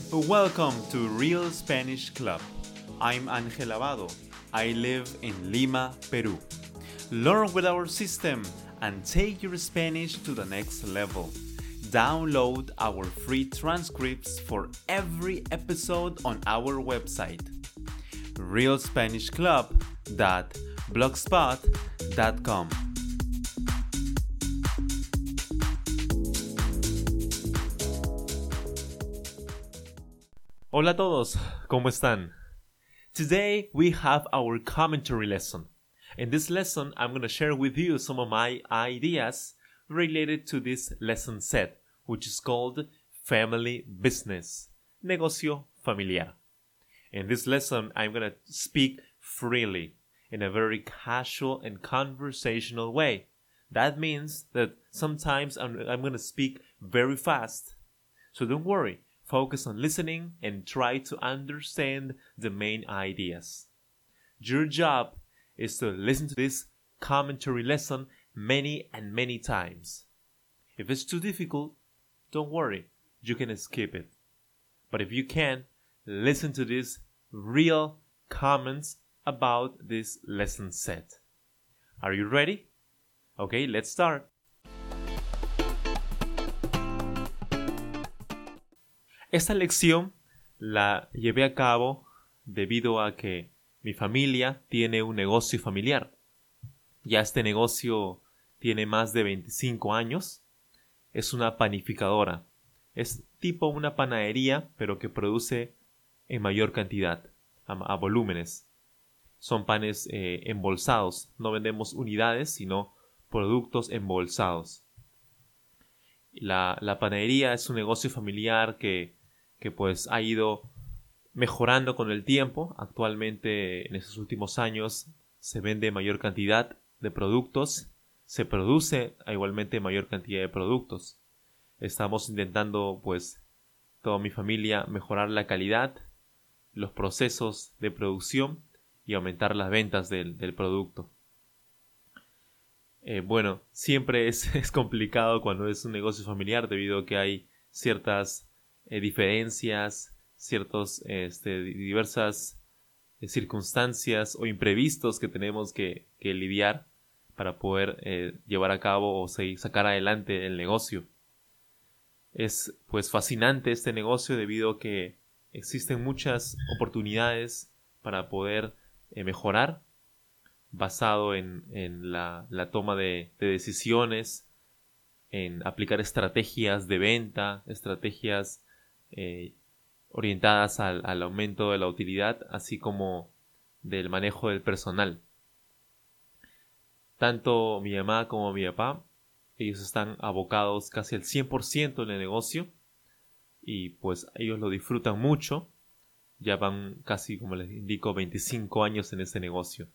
Welcome to Real Spanish Club. I'm Ángel Abado. I live in Lima, Peru. Learn with our system and take your Spanish to the next level. Download our free transcripts for every episode on our website, realspanishclub.blogspot.com. Hola a todos, ¿cómo están? Today we have our commentary lesson. In this lesson, I'm going to share with you some of my ideas related to this lesson set, which is called Family Business, Negocio Familiar. In this lesson, I'm going to speak freely in a very casual and conversational way. That means that sometimes I'm going to speak very fast. So don't worry. Focus on listening and try to understand the main ideas. Your job is to listen to this commentary lesson many and many times. If it's too difficult, don't worry, you can skip it. But if you can, listen to these real comments about this lesson set. Are you ready? Okay, let's start. Esta lección la llevé a cabo debido a que mi familia tiene un negocio familiar. Ya este negocio tiene más de 25 años. Es una panificadora. Es tipo una panadería, pero que produce en mayor cantidad, a volúmenes. Son panes embolsados. No vendemos unidades, sino productos embolsados. La panadería es un negocio familiar que pues ha ido mejorando con el tiempo. Actualmente, en estos últimos años, se vende mayor cantidad de productos, se produce igualmente mayor cantidad de productos. Estamos intentando, pues, toda mi familia, mejorar la calidad, los procesos de producción y aumentar las ventas del producto. Bueno, siempre es complicado cuando es un negocio familiar debido a que hay ciertas diferencias, ciertas diversas circunstancias o imprevistos que tenemos que lidiar para poder llevar a cabo o sacar adelante el negocio. Es pues fascinante este negocio debido a que existen muchas oportunidades para poder mejorar basado en la toma de decisiones, en aplicar estrategias de venta, estrategias orientadas al aumento de la utilidad, así como del manejo del personal. Tanto mi mamá como mi papá, ellos están abocados casi al 100% en el negocio y pues ellos lo disfrutan mucho. Ya van casi, como les indico, 25 años en este negocio.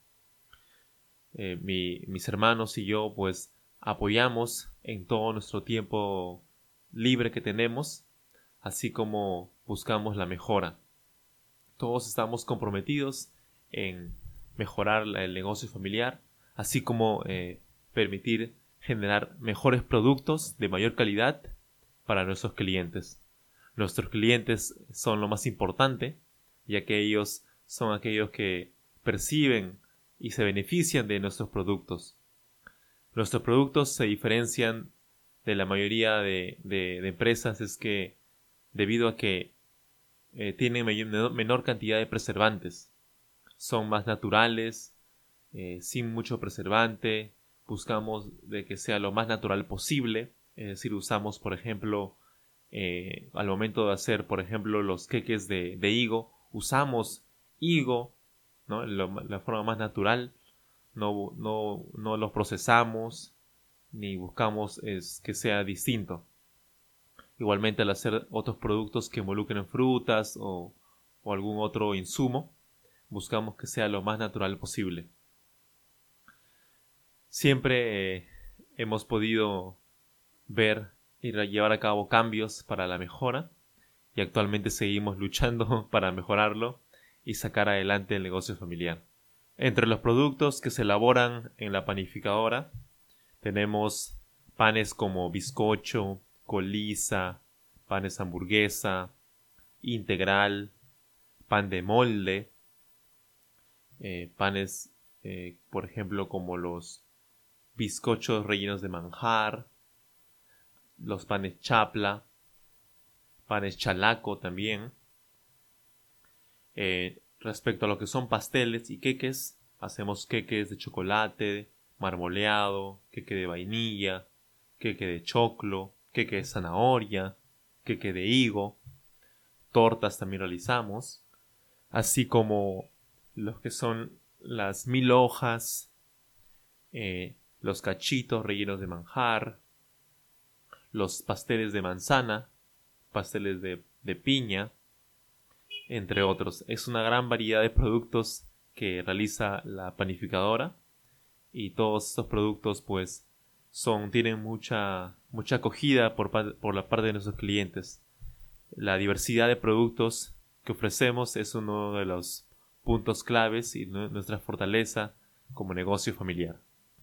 Mis hermanos y yo pues apoyamos en todo nuestro tiempo libre que tenemos, así como buscamos la mejora. Todos estamos comprometidos en mejorar el negocio familiar, así como permitir generar mejores productos de mayor calidad para nuestros clientes. Nuestros clientes son lo más importante, ya que ellos son aquellos que perciben y se benefician de nuestros productos. Nuestros productos se diferencian de la mayoría de empresas, es que debido a que tienen menor cantidad de preservantes. Son más naturales, sin mucho preservante. Buscamos de que sea lo más natural posible. Es decir, usamos, por ejemplo, al momento de hacer, por ejemplo, los queques de higo, usamos higo, ¿no? La forma más natural. No los procesamos ni buscamos que sea distinto. Igualmente, al hacer otros productos que involucren frutas o algún otro insumo, buscamos que sea lo más natural posible. Siempre hemos podido ver y llevar a cabo cambios para la mejora y actualmente seguimos luchando para mejorarlo y sacar adelante el negocio familiar. Entre los productos que se elaboran en la panificadora tenemos panes como bizcocho, coliza, panes hamburguesa, integral, pan de molde, panes, por ejemplo, como los bizcochos rellenos de manjar, los panes chapla, panes chalaco también. Respecto a lo que son pasteles y queques, hacemos queques de chocolate, marmoleado, queque de vainilla, queque de choclo, queque de zanahoria, queque de higo. Tortas también realizamos, así como los que son las 1000 hojas, los cachitos rellenos de manjar, los pasteles de manzana, pasteles de piña, entre otros. Es una gran variedad de productos que realiza la panificadora y todos estos productos pues tienen mucha acogida por la parte de nuestros clientes. La diversidad de productos que ofrecemos es uno de los puntos claves y nuestra fortaleza como negocio familiar.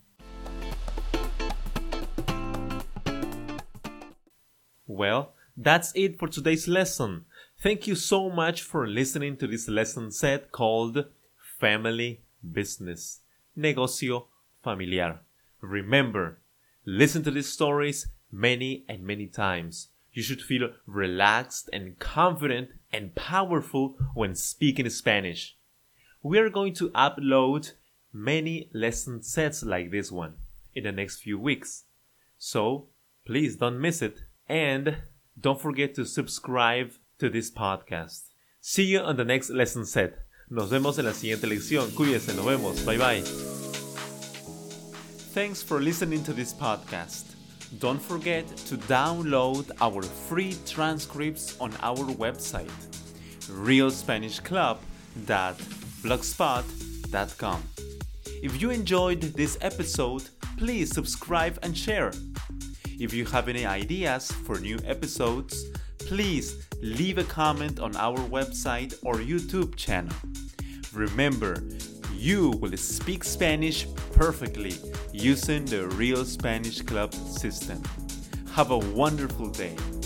Well, that's it for today's lesson. Thank you so much for listening to this lesson set called Family Business, Negocio Familiar. Remember, listen to these stories many and many times. You should feel relaxed and confident and powerful when speaking Spanish. We are going to upload many lesson sets like this one in the next few weeks. So, please don't miss it. And don't forget to subscribe to this podcast. See you on the next lesson set. Nos vemos en la siguiente lección. Cuídense, nos vemos. Bye bye. Thanks for listening to this podcast. Don't forget to download our free transcripts on our website, realspanishclub.blogspot.com. If you enjoyed this episode, please subscribe and share. If you have any ideas for new episodes, please leave a comment on our website or YouTube channel. Remember, you will speak Spanish perfectly using the Real Spanish Club system. Have a wonderful day.